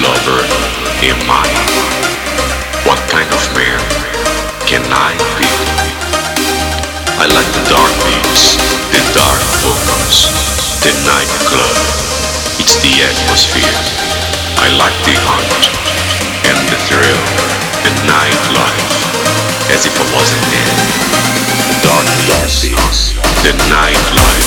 lover am I? What kind of man can I be? I like the dark beats, the dark vocals, the nightclub. It's the atmosphere. I like the hunt and the thrill, the nightlife, as if I wasn't there. The dark beats, the nightlife.